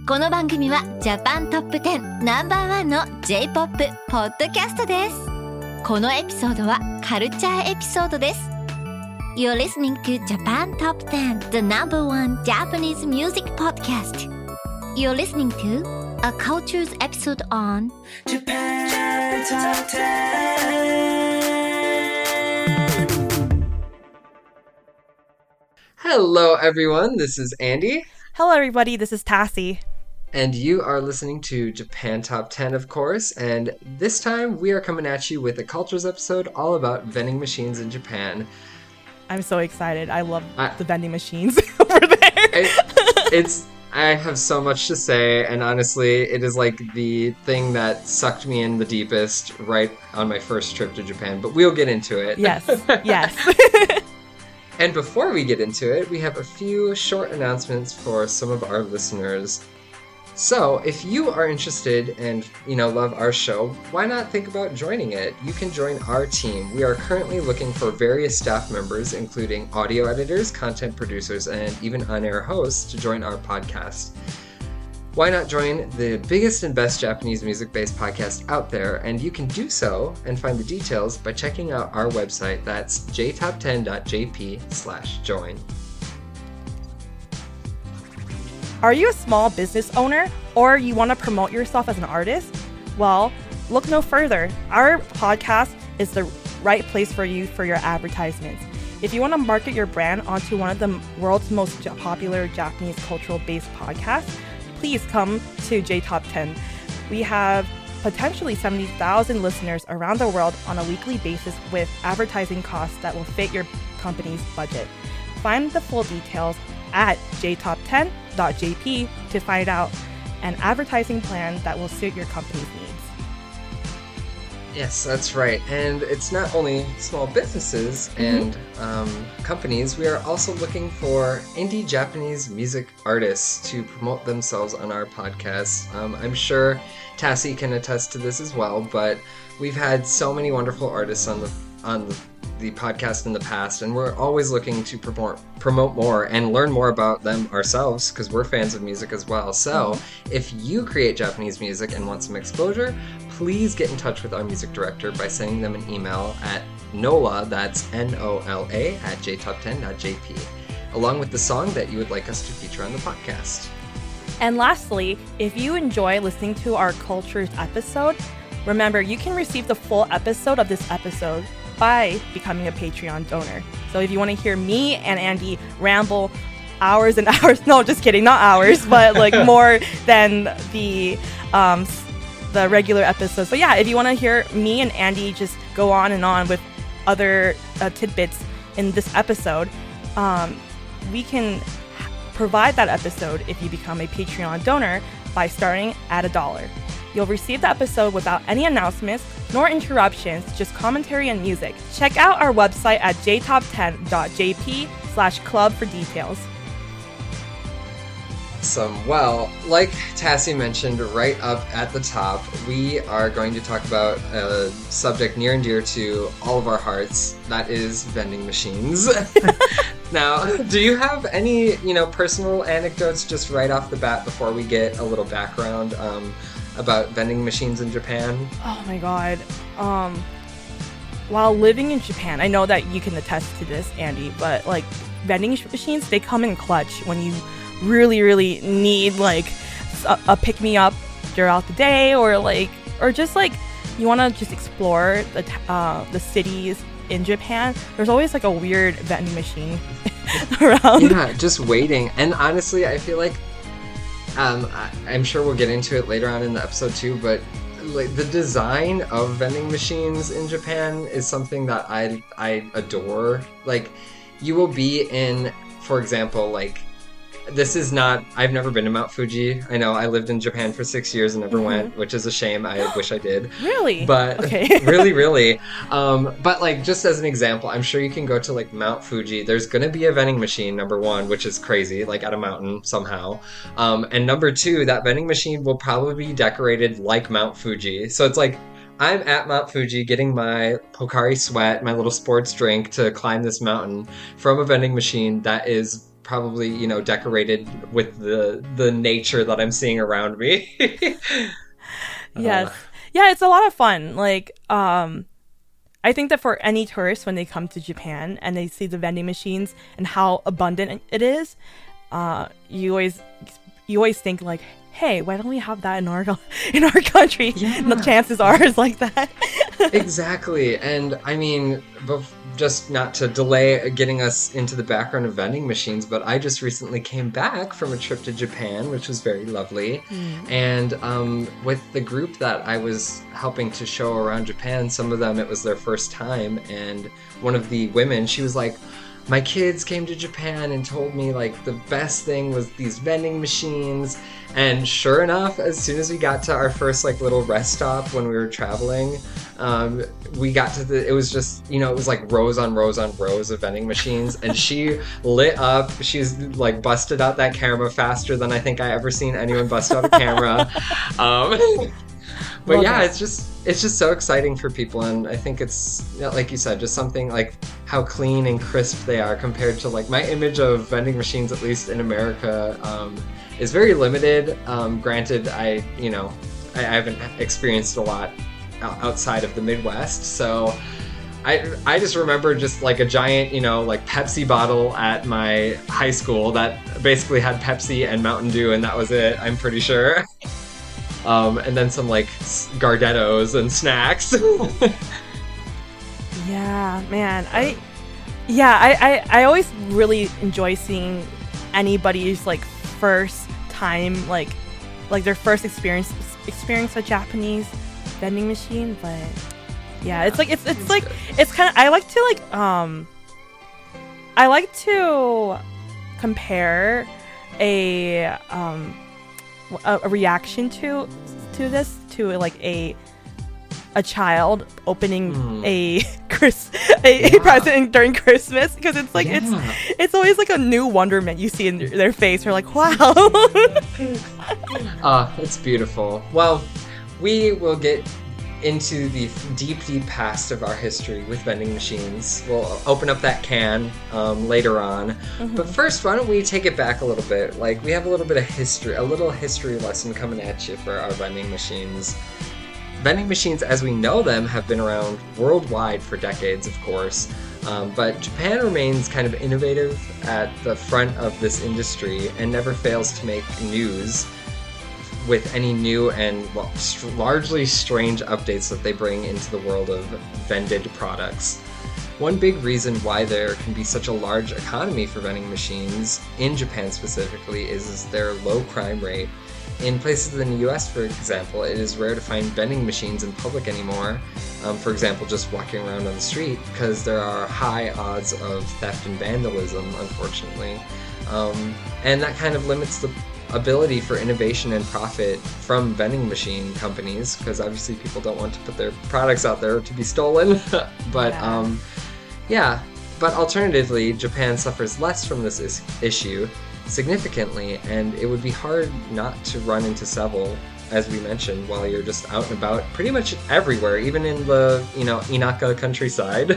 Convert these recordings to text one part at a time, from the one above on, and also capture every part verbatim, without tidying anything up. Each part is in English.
この番組はジャパントップテンナンバーワンの J-ポップ ポッドキャストです。このエピソードはカルチャーエピソードです。You're listening to Japan Top ten, the number one Japanese music podcast. You're listening to a cultures episode on Japan Top ten. Hello, everyone. This is Andy. Hello, everybody. This is Tassie. And you are listening to Japan Top ten, of course. And this time we are coming at you with a cultures episode all about vending machines in Japan. I'm so excited. I love I, the vending machines over there. I, it's I have so much to say, and honestly, it is like the thing that sucked me in the deepest right on my first trip to Japan. But we'll get into it. Yes, yes. And before we get into it, we have a few short announcements for some of our listeners. So, if you are interested and, you know, love our show, why not think about joining it? You can join our team. We are currently looking for various staff members, including audio editors, content producers, and even on-air hosts to join our podcast. Why not join the biggest and best Japanese music-based podcast out there? And you can do so and find the details by checking out our website. That's j top ten dot j p slash join. Are you a small business owner or you want to promote yourself as an artist? Well, look no further. Our podcast is the right place for you for your advertisements. If you want to market your brand onto one of the world's most popular Japanese cultural-based podcasts, please come to J Top ten. We have potentially seventy thousand listeners around the world on a weekly basis with advertising costs that will fit your company's budget. Find the full details at j top ten dot j p to find out an advertising plan that will suit your company's needs. Yes, that's right. And it's not only small businesses and mm-hmm. um, companies. We are also looking for indie Japanese music artists to promote themselves on our podcast. Um, I'm sure Tassie can attest to this as well, but we've had so many wonderful artists on the on the, the podcast in the past, and we're always looking to promote promote more and learn more about them ourselves because we're fans of music as well. So mm-hmm. if you create Japanese music and want some exposure, please get in touch with our music director by sending them an email at nola, that's N O L A, at j top ten dot j p, along with the song that you would like us to feature on the podcast. And lastly, if you enjoy listening to our Cultures episode, remember you can receive the full episode of this episode by becoming a Patreon donor. So if you want to hear me and Andy ramble hours and hours, no, just kidding, not hours, but like more than the um, the regular episodes. But yeah, if you want to hear me and Andy just go on and on with other uh, tidbits in this episode, um, we can provide that episode if you become a Patreon donor by starting at a dollar. You'll receive the episode without any announcements nor interruptions, just commentary and music. Check out our website at j top ten dot j p slash club for details. Awesome. Well, like Tassie mentioned right up at the top, we are going to talk about a subject near and dear to all of our hearts. That is vending machines. Now, do you have any, you know, personal anecdotes just right off the bat before we get a little background um, about vending machines in Japan? Oh my god. Um, while living in Japan, I know that you can attest to this, Andy, but like vending machines, they come in clutch when you really, really need like a, a pick-me-up throughout the day, or like, or just like you want to just explore the uh, the cities in Japan. There's always like a weird vending machine around. Yeah, just waiting. And honestly, I feel like um, I, I'm sure we'll get into it later on in the episode too, but like the design of vending machines in Japan is something that I I adore. Like, you will be in, for example, like, this is not, I've never been to Mount Fuji. I know I lived in Japan for six years and never mm-hmm. went, which is a shame. I wish I did. Really? But okay. really, really. Um, but like, just as an example, I'm sure you can go to like Mount Fuji. There's going to be a vending machine, number one, which is crazy, like at a mountain somehow. Um, and number two, that vending machine will probably be decorated like Mount Fuji. So it's like, I'm at Mount Fuji getting my Pocari Sweat, my little sports drink to climb this mountain from a vending machine that is probably, you know, decorated with the the nature that I'm seeing around me. Yes. Uh, Yeah, it's a lot of fun. Like, um, I think that for any tourist, when they come to Japan and they see the vending machines and how abundant it is, uh, you always you always think like, hey, why don't we have that in our in our country? Yeah. And the chances are it's like that. Exactly. And I mean, bef- just not to delay getting us into the background of vending machines, but I just recently came back from a trip to Japan, which was very lovely. Mm. And um, with the group that I was helping to show around Japan, some of them, it was their first time. And one of the women, she was like, my kids came to Japan and told me like the best thing was these vending machines. And sure enough, as soon as we got to our first like little rest stop when we were traveling, um, we got to the, it was just, you know, it was like rows on rows on rows of vending machines. And she lit up, she's like busted out that camera faster than I think I ever seen anyone bust out a camera. um, but Love yeah, it. it's just, it's just so exciting for people. And I think it's, like you said, just something like how clean and crisp they are compared to like my image of vending machines, at least in America, um, is very limited. Um, granted, I, you know, I, I haven't experienced a lot outside of the Midwest. So I, I just remember just like a giant, you know, like Pepsi bottle at my high school that basically had Pepsi and Mountain Dew, and that was it, I'm pretty sure. Um, and then some like Gardettos and snacks. Yeah, man. I, yeah, I, I, I always really enjoy seeing anybody's like first time, like, like their first experience, experience with Japanese vending machine. But yeah, it's like, it's, it's like, it's kind of, I like to like, um, I like to compare a, um, a, a reaction to, to this, to like a, a child opening mm. a Chris a, yeah. a present during Christmas, because it's like yeah. it's it's always like a new wonderment you see in their face. You're like, wow. Ah, uh, it's beautiful. Well, we will get into the deep, deep past of our history with vending machines. We'll open up that can um, later on. Mm-hmm. But first, why don't we take it back a little bit? Like, we have a little bit of history, a little history lesson coming at you for our vending machines. Vending machines, as we know them, have been around worldwide for decades, of course, um, but Japan remains kind of innovative at the front of this industry and never fails to make news with any new and well, st- largely strange updates that they bring into the world of vended products. One big reason why there can be such a large economy for vending machines, in Japan specifically, is, is their low crime rate. In places in the U S, for example, it is rare to find vending machines in public anymore. Um, for example, just walking around on the street, because there are high odds of theft and vandalism, unfortunately. Um, and that kind of limits the ability for innovation and profit from vending machine companies, because obviously people don't want to put their products out there to be stolen. But yeah. Um, yeah, but alternatively, Japan suffers less from this is- issue. significantly, and it would be hard not to run into several, as we mentioned, while you're just out and about pretty much everywhere, even in the, you know, Inaka countryside.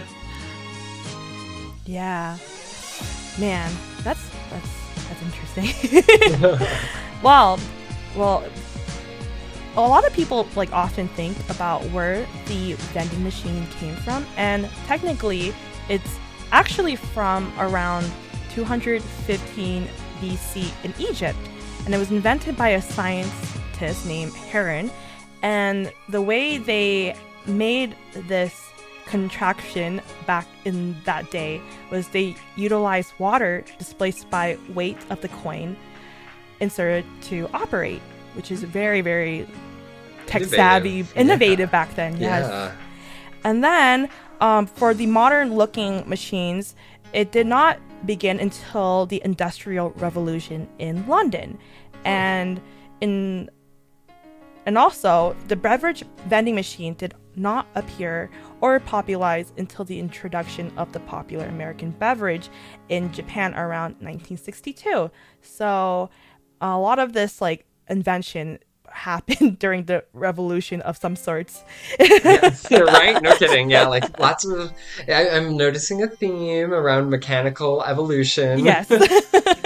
Yeah. Man, that's that's that's interesting. well, well, a lot of people like often think about where the vending machine came from, and technically it's actually from around two hundred fifteen B C in Egypt, and it was invented by a scientist named Heron. And the way they made this contraction back in that day was they utilized water displaced by weight of the coin inserted to operate, which is very, very tech savvy, innovative yeah. back then. Yes. Yeah. And then um, for the modern looking machines, it did not begin until the Industrial Revolution in London. And in and also the beverage vending machine did not appear or popularize until the introduction of the popular American beverage in Japan around nineteen sixty-two. So a lot of this like invention happened during the revolution of some sorts. Yes, right? No kidding. Yeah, like lots of... I, I'm noticing a theme around mechanical evolution. Yes.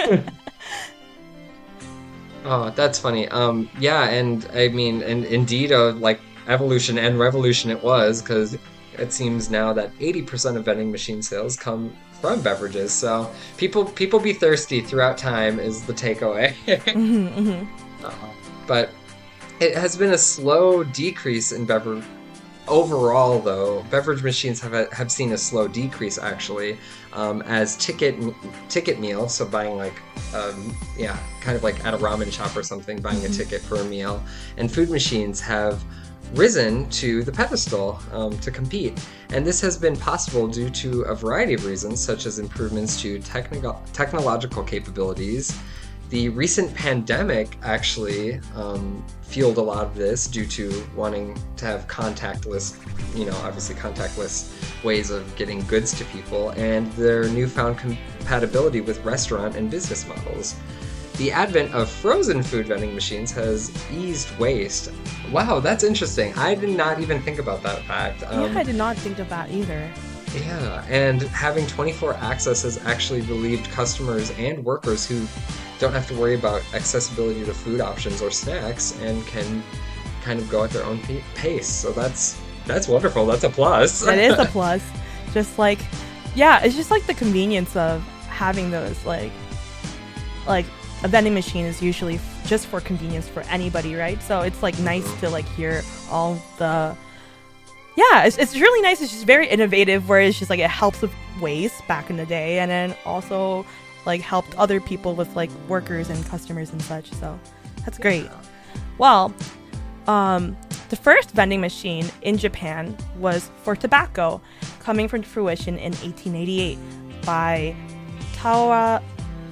Oh, that's funny. Um, yeah, and I mean, and indeed, a like evolution and revolution it was, because it seems now that eighty percent of vending machine sales come from beverages. So people people be thirsty throughout time is the takeaway. mm-hmm, mm-hmm. Uh, but it has been a slow decrease in beverage. Overall, though, beverage machines have a, have seen a slow decrease actually, um, as ticket ticket meal. So buying like, um, yeah, kind of like at a ramen shop or something, buying a ticket for a meal, and food machines have risen to the pedestal um, to compete. And this has been possible due to a variety of reasons, such as improvements to technical technological capabilities. The recent pandemic actually um, fueled a lot of this due to wanting to have contactless, you know, obviously contactless ways of getting goods to people, and their newfound compatibility with restaurant and business models. The advent of frozen food vending machines has eased waste. Wow, that's interesting. I did not even think about that fact. Um, yeah, I did not think of that either. Yeah, and having twenty-four access has actually relieved customers and workers who don't have to worry about accessibility to food options or snacks and can kind of go at their own pace. So that's that's wonderful. That's a plus. That is a plus. Just like, yeah, it's just like the convenience of having those, like, like a vending machine is usually f- just for convenience for anybody, right? So it's like nice to like hear all the, yeah, it's, it's really nice. It's just very innovative, where it's just like it helps with waste back in the day, and then also like helped other people with like workers and customers and such. So that's great. Well, um, the first vending machine in Japan was for tobacco, coming from fruition in eighteen eighty-eight by Tawa,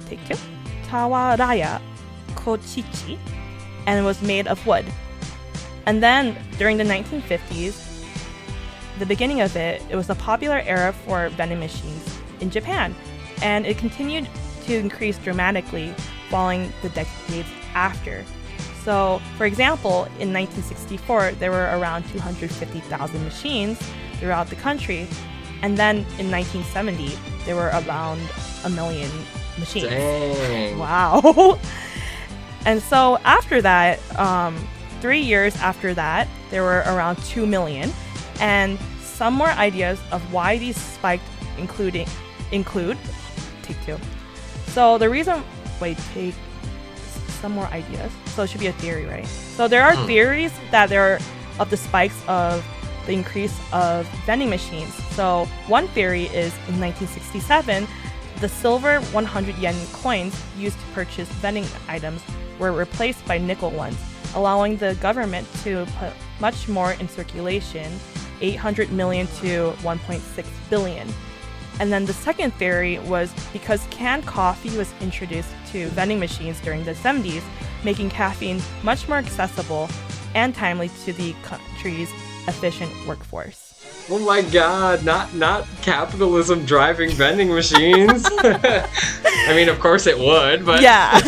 Tawaraya Kochichi, and it was made of wood. And then during the nineteen fifties, the beginning of it, it was a popular era for vending machines in Japan, and it continued to increase dramatically following the decades after. So, for example, in nineteen sixty-four, there were around two hundred fifty thousand machines throughout the country, and then in nineteen seventy, there were around a million machines. Dang. Wow. And so after that, um, three years after that, there were around two million, and some more ideas of why these spiked, including include take two. So the reason, wait, take some more ideas. So it should be a theory, right? So there are mm. theories that there are of the spikes of the increase of vending machines. So one theory is in nineteen sixty-seven, the silver one hundred yen coins used to purchase vending items were replaced by nickel ones, allowing the government to put much more in circulation, eight hundred million to one point six billion. And then the second theory was because canned coffee was introduced to vending machines during the seventies, making caffeine much more accessible and timely to the country's efficient workforce. Oh my god, not not capitalism driving vending machines. I mean, of course it would, but yeah.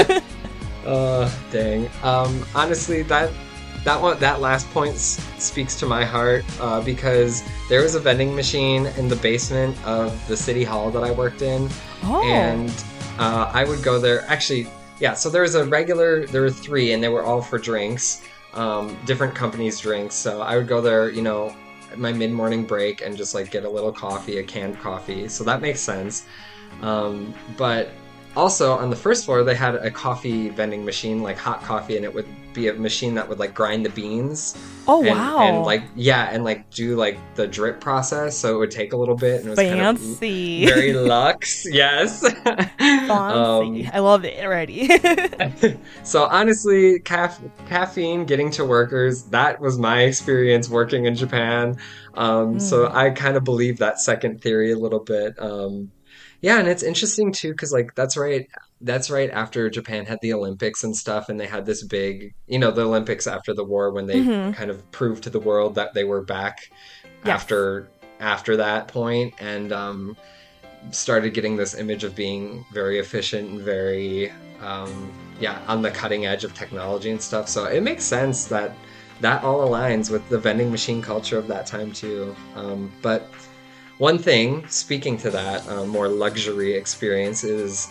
uh dang. Um honestly, that That one, that last point s- speaks to my heart uh, because there was a vending machine in the basement of the city hall that I worked in, oh. and uh, I would go there. Actually, yeah. So there was a regular. There were three, and they were all for drinks, um, different companies' drinks. So I would go there, you know, at my mid-morning break and just like get a little coffee, a canned coffee. So that makes sense. Um, but also on the first floor, they had a coffee vending machine, like hot coffee, and it would be a machine that would like grind the beans. Oh, and, wow. And like, yeah, and like do like the drip process. So it would take a little bit. And it was Fancy. Kind of very luxe. Yes. Fancy. Um, I love it already. So honestly, caf- caffeine getting to workers, that was my experience working in Japan. Um, mm. So I kind of believe that second theory a little bit. Um, Yeah, and it's interesting too, because like that's right, that's right after Japan had the Olympics and stuff, and they had this big, you know, the Olympics after the war when they mm-hmm. kind of proved to the world that they were back yes. after after that point, and um, started getting this image of being very efficient and very, um, yeah, on the cutting edge of technology and stuff. So it makes sense that that all aligns with the vending machine culture of that time too. Um, but One thing, speaking to that uh, more luxury experience, is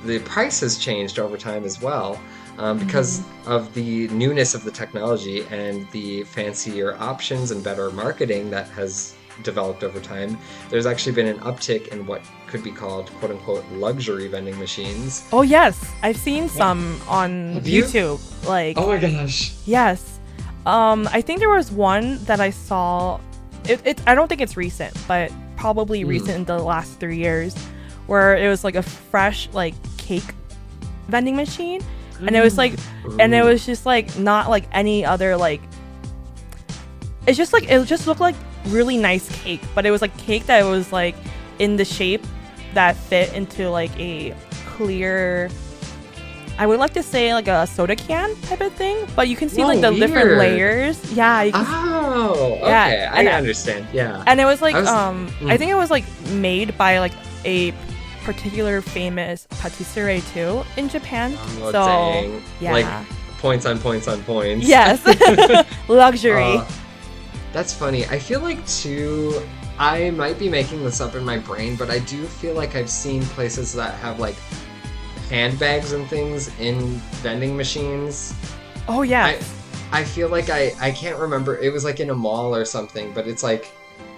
the price has changed over time as well. Um, because mm-hmm. of the newness of the technology and the fancier options and better marketing that has developed over time, there's actually been an uptick in what could be called quote-unquote luxury vending machines. Oh yes, I've seen some on Have you? YouTube. Like, oh my gosh. Yes. Um, I think there was one that I saw. It, it I don't think it's recent, but probably mm. recent in the last three years, where it was like a fresh like cake vending machine. And it was like, Ooh. and it was just like not like any other like. It's just like it just looked like really nice cake, but it was like cake that was like in the shape that fit into like a clear. I would like to say like a soda can type of thing, but you can see Whoa, like the weird. different layers. Yeah. You can oh, okay. Yeah. I and, understand. Yeah. And it was like I was, um, mm. I think it was like made by like a particular famous patisserie too in Japan. Oh, so dang. yeah, like points on points on points. Yes. Luxury. Uh, that's funny. I feel like too, I might be making this up in my brain, but I do feel like I've seen places that have like handbags and things in vending machines. Oh yeah. I, I feel like I, I can't remember. It was like in a mall or something, but it's like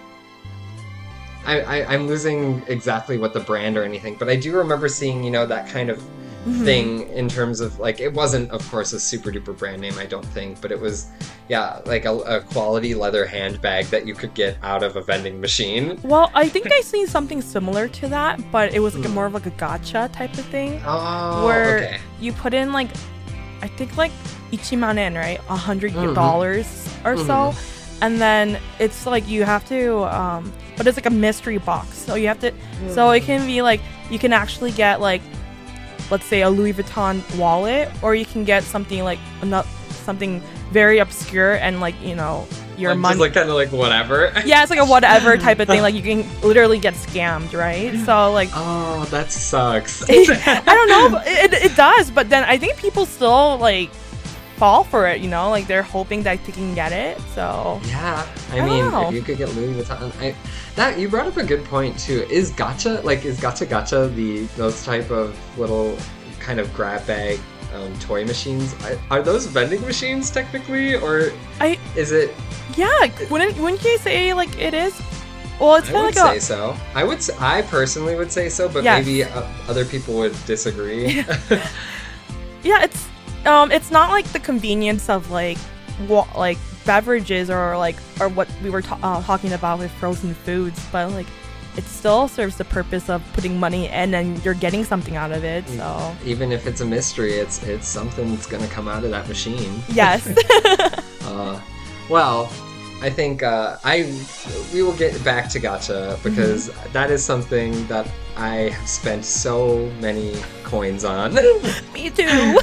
I, I, I'm losing exactly what the brand or anything, but I do remember seeing, you know, that kind of mm-hmm. thing in terms of, like, it wasn't, of course, a super duper brand name, I don't think, but it was, yeah, like a, a quality leather handbag that you could get out of a vending machine. Well, I think I seen something similar to that, but it was like a more of like a gacha type of thing. Oh, where okay. you put in, like, I think, like, ichiman yen, right? A hundred dollars mm-hmm. or so. Mm-hmm. And then it's like you have to, um, but it's like a mystery box. So you have to, mm. so it can be like, you can actually get like, let's say a Louis Vuitton wallet, or you can get something like, not, something very obscure and like, you know, your like, money. Just like kind of like whatever. Yeah, it's like a whatever type of thing. Like you can literally get scammed, right? So like. Oh, that sucks. I don't know. It, it does. But then I think people still like fall for it, you know, like they're hoping that they can get it. So yeah, I, I mean, know. if you could get Louis Vuitton, I, that you brought up a good point too. Is gacha like is gacha gacha the those type of little kind of grab bag um, toy machines? I, are those vending machines technically, or I is it? Yeah, wouldn't wouldn't you say like it is? Well, it's I kind would of like say a, so. I would. Say, I personally would say so, but yes. maybe uh, other people would disagree. Yeah, it's. Um, it's not like the convenience of like, wa- like beverages or like, or what we were ta- uh, talking about with frozen foods, but like, it still serves the purpose of putting money in and you're getting something out of it. So even if it's a mystery, it's it's something that's gonna come out of that machine. Yes. uh, well, I think uh, I we will get back to gacha because mm-hmm. that is something that I have spent so many coins on. Me too.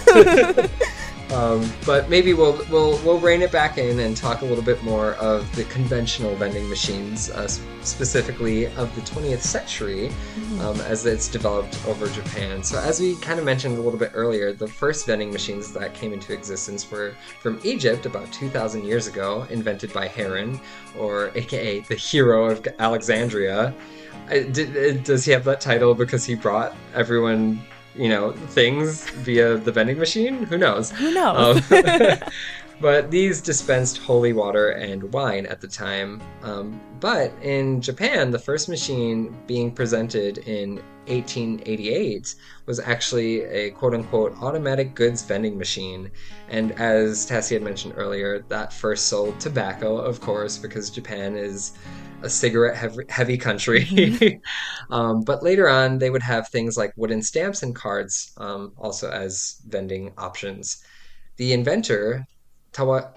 um, but maybe we'll we'll we'll rein it back in and talk a little bit more of the conventional vending machines, uh, specifically of the twentieth century, mm-hmm. um, as it's developed over Japan. So as we kind of mentioned a little bit earlier, the first vending machines that came into existence were from Egypt about two thousand years ago, invented by Heron, or aka the hero of Alexandria. I, did, does he have that title because he brought everyone, you know, things via the vending machine? Who knows? Who knows? Um, but these dispensed holy water and wine at the time. Um, but in Japan, the first machine being presented in eighteen eighty-eight was actually a quote-unquote automatic goods vending machine. And as Tassie had mentioned earlier, that first sold tobacco, of course, because Japan is a cigarette heavy, heavy country. Mm-hmm. um, but later on, they would have things like wooden stamps and cards um, also as vending options. The inventor, Tawa,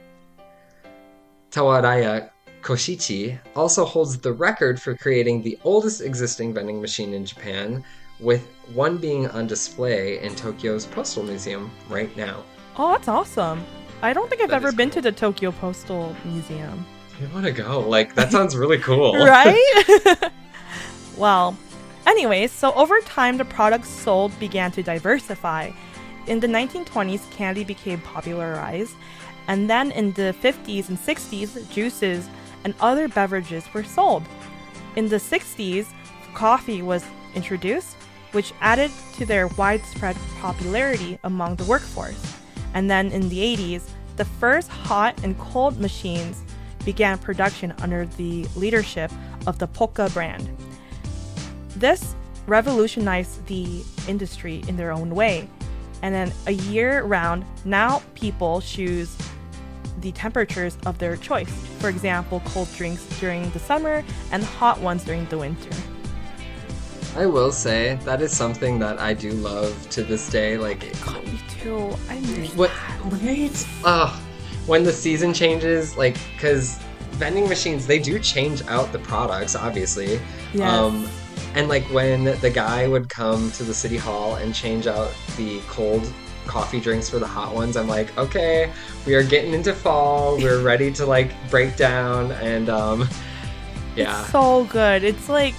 Tawaraya Koshichi, also holds the record for creating the oldest existing vending machine in Japan, with one being on display in Tokyo's Postal Museum right now. Oh, that's awesome. I don't think I've That ever is been cool. to the Tokyo Postal Museum. I want to go. Like, that sounds really cool. Right? Well, anyways, so over time, the products sold began to diversify. In the nineteen twenties, candy became popularized, and then in the fifties and sixties, juices and other beverages were sold. In the sixties, coffee was introduced, which added to their widespread popularity among the workforce. And then in the eighties, the first hot and cold machines began production under the leadership of the Pokka brand. This revolutionized the industry in their own way. And then a year round, now people choose the temperatures of their choice. For example, cold drinks during the summer and hot ones during the winter. I will say that is something that I do love to this day. Like, God, me too. I miss what? that. Right? Uh, when the season changes, like, because vending machines, they do change out the products, obviously. Yes. Um, and like when the guy would come to the city hall and change out the cold coffee drinks for the hot ones, I'm like, okay, we are getting into fall. We're ready to like break down, and um, yeah. It's so good. It's like,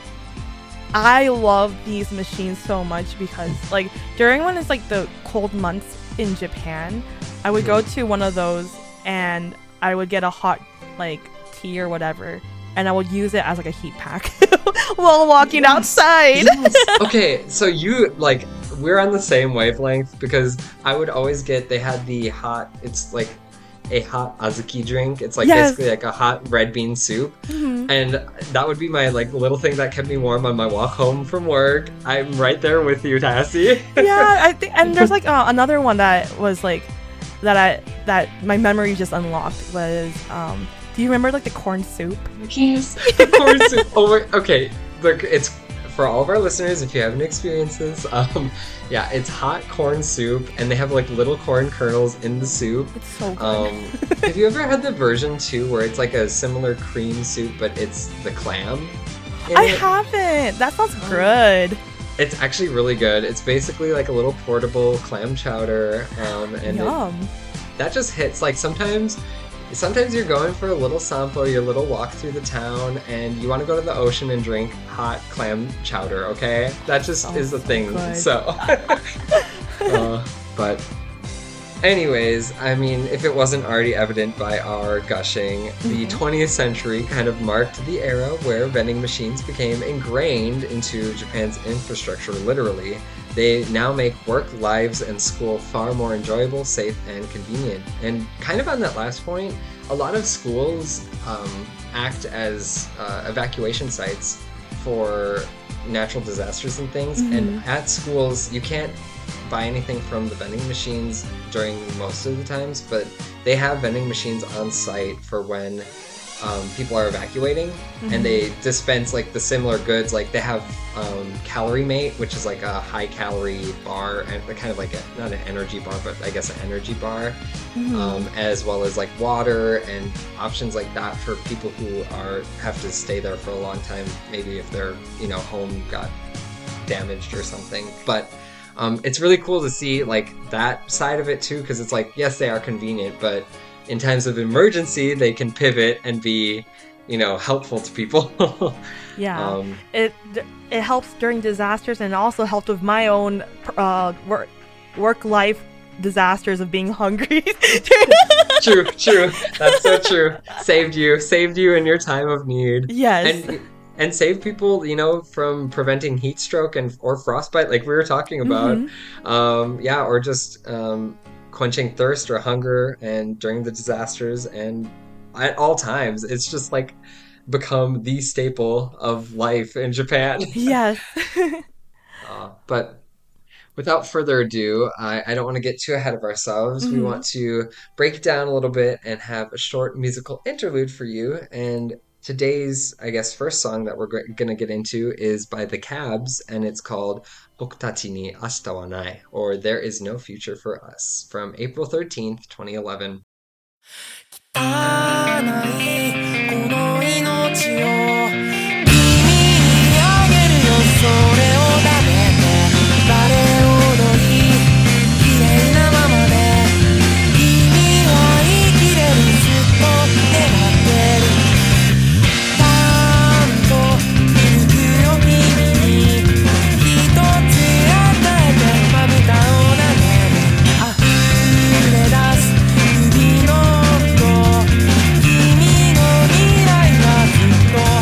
I love these machines so much because like during when it's like the cold months in Japan, I would go to one of those and I would get a hot like tea or whatever, and I would use it as like a heat pack while walking yes. outside. Yes. Okay, so you like we're on the same wavelength because I would always get, they had the hot, it's like a hot azuki drink. It's like yes. basically like a hot red bean soup. Mm-hmm. And that would be my like little thing that kept me warm on my walk home from work. I'm right there with you, Tassie. Yeah, I think, and there's like uh, another one that was like that I that my memory just unlocked was um do you remember like the corn soup? Yes, the corn soup. Oh my, okay. Look, it's for all of our listeners, if you haven't experienced this, um, yeah, it's hot corn soup, and they have like little corn kernels in the soup. It's so good. Um, have you ever had the version too, where it's like a similar cream soup, but it's the clam? I it? haven't. That sounds good. It's actually really good. It's basically like a little portable clam chowder, um, and Yum. it, that just hits. Like sometimes. Sometimes you're going for a little sample, your little walk through the town, and you want to go to the ocean and drink hot clam chowder, okay? That just Oh, is the so thing. good. So, uh, but anyways, I mean, if it wasn't already evident by our gushing, the Mhm. twentieth century kind of marked the era where vending machines became ingrained into Japan's infrastructure, literally. They now make work, lives, and school far more enjoyable, safe, and convenient. And kind of on that last point, a lot of schools um, act as uh, evacuation sites for natural disasters and things. Mhm. And at schools, you can't buy anything from the vending machines during most of the times, but they have vending machines on site for when um, people are evacuating, Mm-hmm. and they dispense like the similar goods. Like they have um, Calorie Mate, which is like a high calorie bar, and kind of like a, not an energy bar, but I guess an energy bar, Mhm. um, as well as like water and options like that for people who are have to stay there for a long time. Maybe if their you know home got damaged or something, but. Um, it's really cool to see like that side of it too, because it's like, yes, they are convenient, but in times of emergency, they can pivot and be, you know, helpful to people. Yeah. um, it it helps during disasters, and it also helped with my own uh, work work life disasters of being hungry. true, true. That's so true. Saved you, saved you in your time of need. Yes. And and save people, you know, from preventing heat stroke and or frostbite, like we were talking about. Mhm. Um, yeah, or just um, quenching thirst or hunger, and during the disasters, and at all times, it's just like become the staple of life in Japan. Yes. Uh, but without further ado, I, I don't want to get too ahead of ourselves. We Mhm. want to break it down a little bit and have a short musical interlude for you. And today's, I guess, first song that we're g- going to get into is by The Cabs, and it's called Bokutachi ni Ashita wa Nai, or There Is No Future for Us, from April thirteenth, twenty eleven. 汚いこの命を君にあげるよそれを食べてバレエ踊り綺麗なままで君は生きれるずっと願ってるちゃんといるよ君に一つ与えてまぶたを投げる溢れ出す指の音君の未来はずっと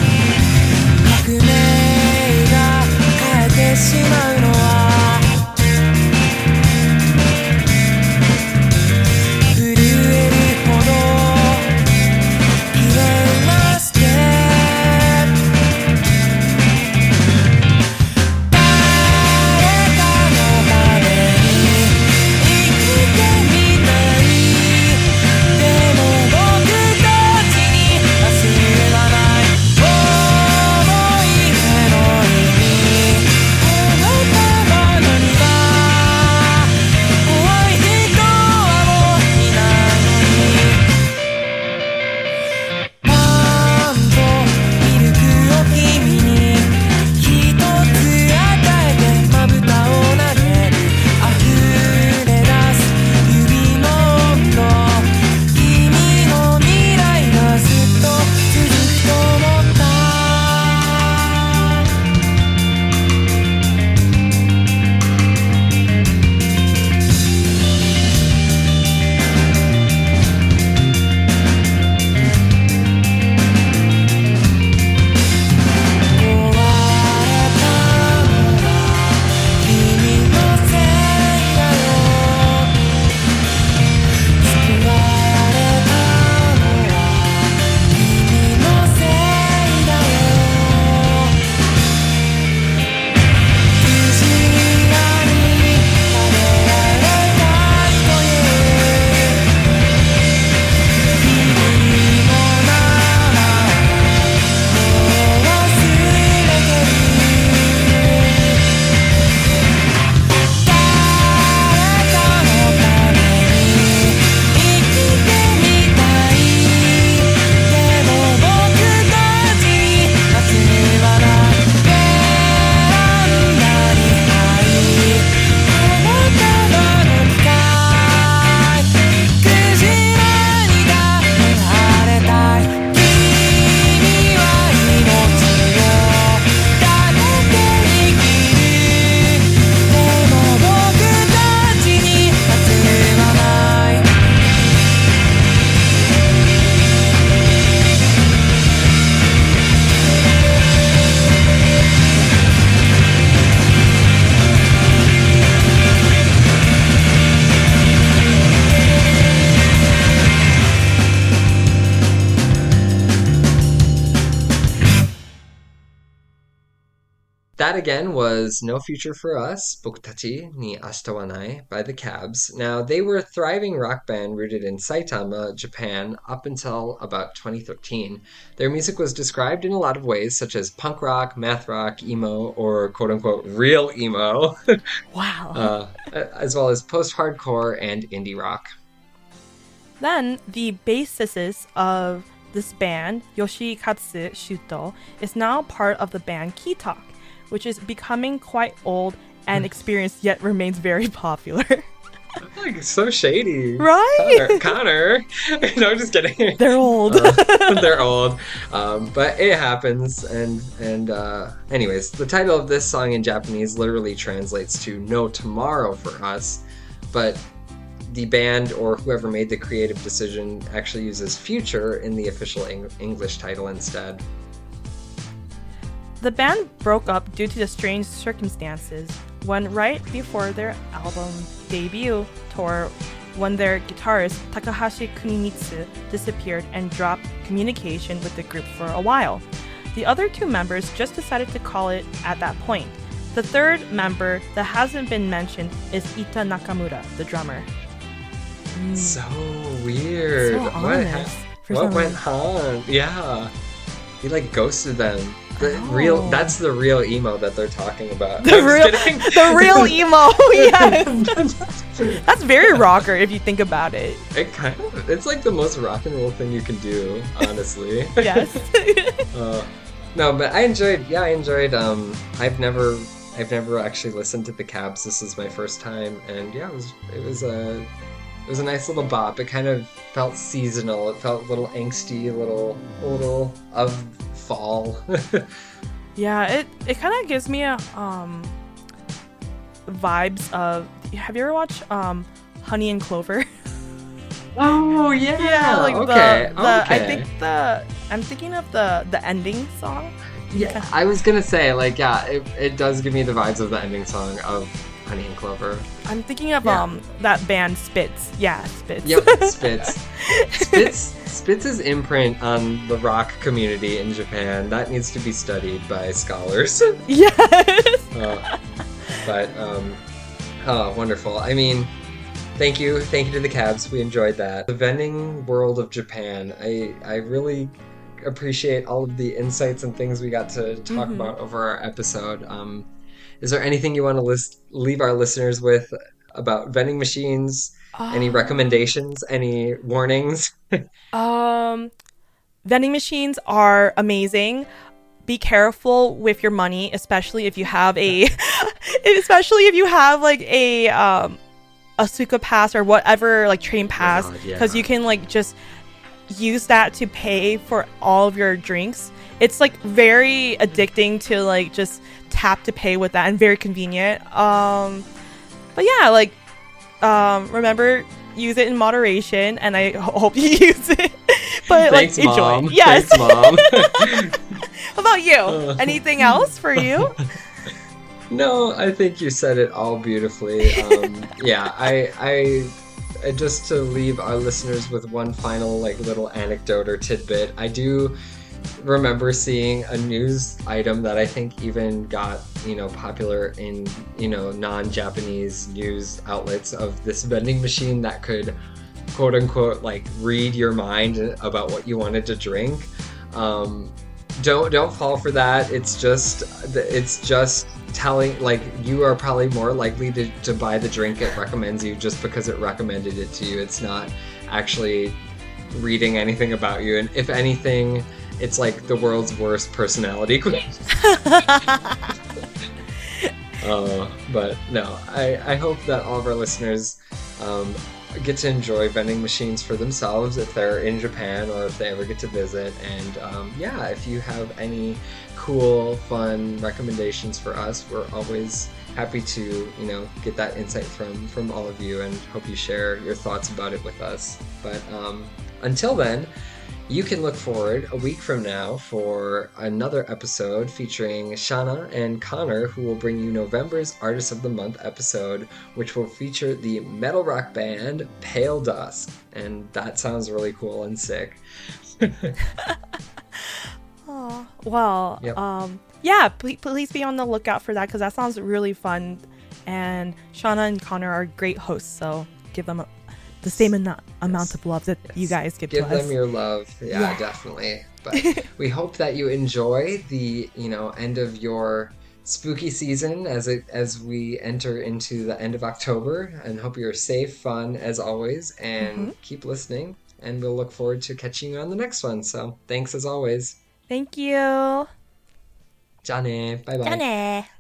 that again was No Future for Us, Bokutachi ni Ashita wa Nai by the Cabs. Now, they were a thriving rock band rooted in Saitama, Japan, up until about twenty thirteen. Their music was described in a lot of ways, such as punk rock, math rock, emo, or quote-unquote real emo. Wow. uh, as well as post-hardcore and indie rock. Then, the bassist of this band, Yoshikatsu Shuto, is now part of the band Keytalk, which is becoming quite old and experienced, yet remains very popular. Like, so shady. Right? Connor. Connor. No, I'm just kidding. They're old. uh, they're old. Um, but it happens. And, and uh, anyways, the title of this song in Japanese literally translates to No Tomorrow for Us. But the band or whoever made the creative decision actually uses Future in the official Eng- English title instead. The band broke up due to the strange circumstances when right before their album debut tour, when their guitarist Takahashi Kunimitsu disappeared and dropped communication with the group for a while. The other two members just decided to call it at that point. The third member that hasn't been mentioned is Ita Nakamura, the drummer. Mm. So weird. So what honest, ha- for what some went reason. on? Yeah. He like ghosted them. The Oh. real that's the real emo that they're talking about. The I'm just real, kidding. the real emo, yes. That's very rocker if you think about it. It kind of it's like the most rock and roll thing you can do, honestly. Yes. uh, no, but I enjoyed. Yeah, I enjoyed. Um, I've never, I've never actually listened to the Cabs. This is my first time, and yeah, it was, it was a, it was a nice little bop. It kind of felt seasonal. It felt a little angsty, a little, a little of fall. Yeah, it, it kind of gives me a um vibes of. Have you ever watched um Honey and Clover? Oh yeah, like okay, the, the okay. I think the I'm thinking of the the ending song. Yeah, I was gonna say like yeah, it, it does give me the vibes of the ending song of Honey and Clover. I'm thinking of Yeah. um that band Spitz. Yeah, Spitz. Yep, Spitz. Spitz. Spitz's imprint on the rock community in Japan, that needs to be studied by scholars. Yes. uh, but, um, oh, wonderful. I mean, thank you. Thank you to the Cabs. We enjoyed that. The vending world of Japan, I, I really appreciate all of the insights and things we got to talk Mhm. about over our episode. Um, is there anything you want to list, leave our listeners with about vending machines? Any Um, recommendations? Any warnings? Um, vending machines are amazing. Be careful with your money, especially if you have a, especially if you have like a um, a Suica pass or whatever, like train pass, God, yeah. because you can like just use that to pay for all of your drinks. It's like very addicting to like just tap to pay with that and very convenient. Um, but yeah, like um, remember. Use it in moderation, and I ho- hope you use it. But Thanks, like, enjoy. Mom. Yes. Thanks, Mom. How about you? Uh. Anything else for you? No, I think you said it all beautifully. Um, yeah, I, I, I, just to leave our listeners with one final like little anecdote or tidbit. I do remember seeing a news item that I think even got, you know, popular in, you know, non-Japanese news outlets of this vending machine that could, quote unquote, like read your mind about what you wanted to drink. Um, don't don't fall for that. It's just it's just telling, like, you are probably more likely to, to buy the drink it recommends you just because it recommended it to you. It's not actually reading anything about you, and if anything, it's like the world's worst personality quiz. uh, but no, I, I hope that all of our listeners um, get to enjoy vending machines for themselves if they're in Japan or if they ever get to visit. And um, yeah, if you have any cool, fun recommendations for us, we're always happy to, you know, get that insight from from all of you, and hope you share your thoughts about it with us. But um, until then, you can look forward a week from now for another episode featuring Shana and Connor, who will bring you November's Artist of the Month episode, which will feature the metal rock band Pale Dusk. And that sounds really cool and sick. Oh, well, Yep. um, yeah, please, please be on the lookout for that because that sounds really fun. And Shauna and Connor are great hosts, so give them a, the same amount amount of love that Yes. you guys give, Give to us. them your love. Yeah, Yeah. definitely. But we hope that you enjoy the, you know, end of your spooky season as it as we enter into the end of October, and hope you're safe, fun as always, and keep listening. And we'll look forward to catching you on the next one. So thanks as always. Thank you. じゃあね。バイバイ。 じゃあね。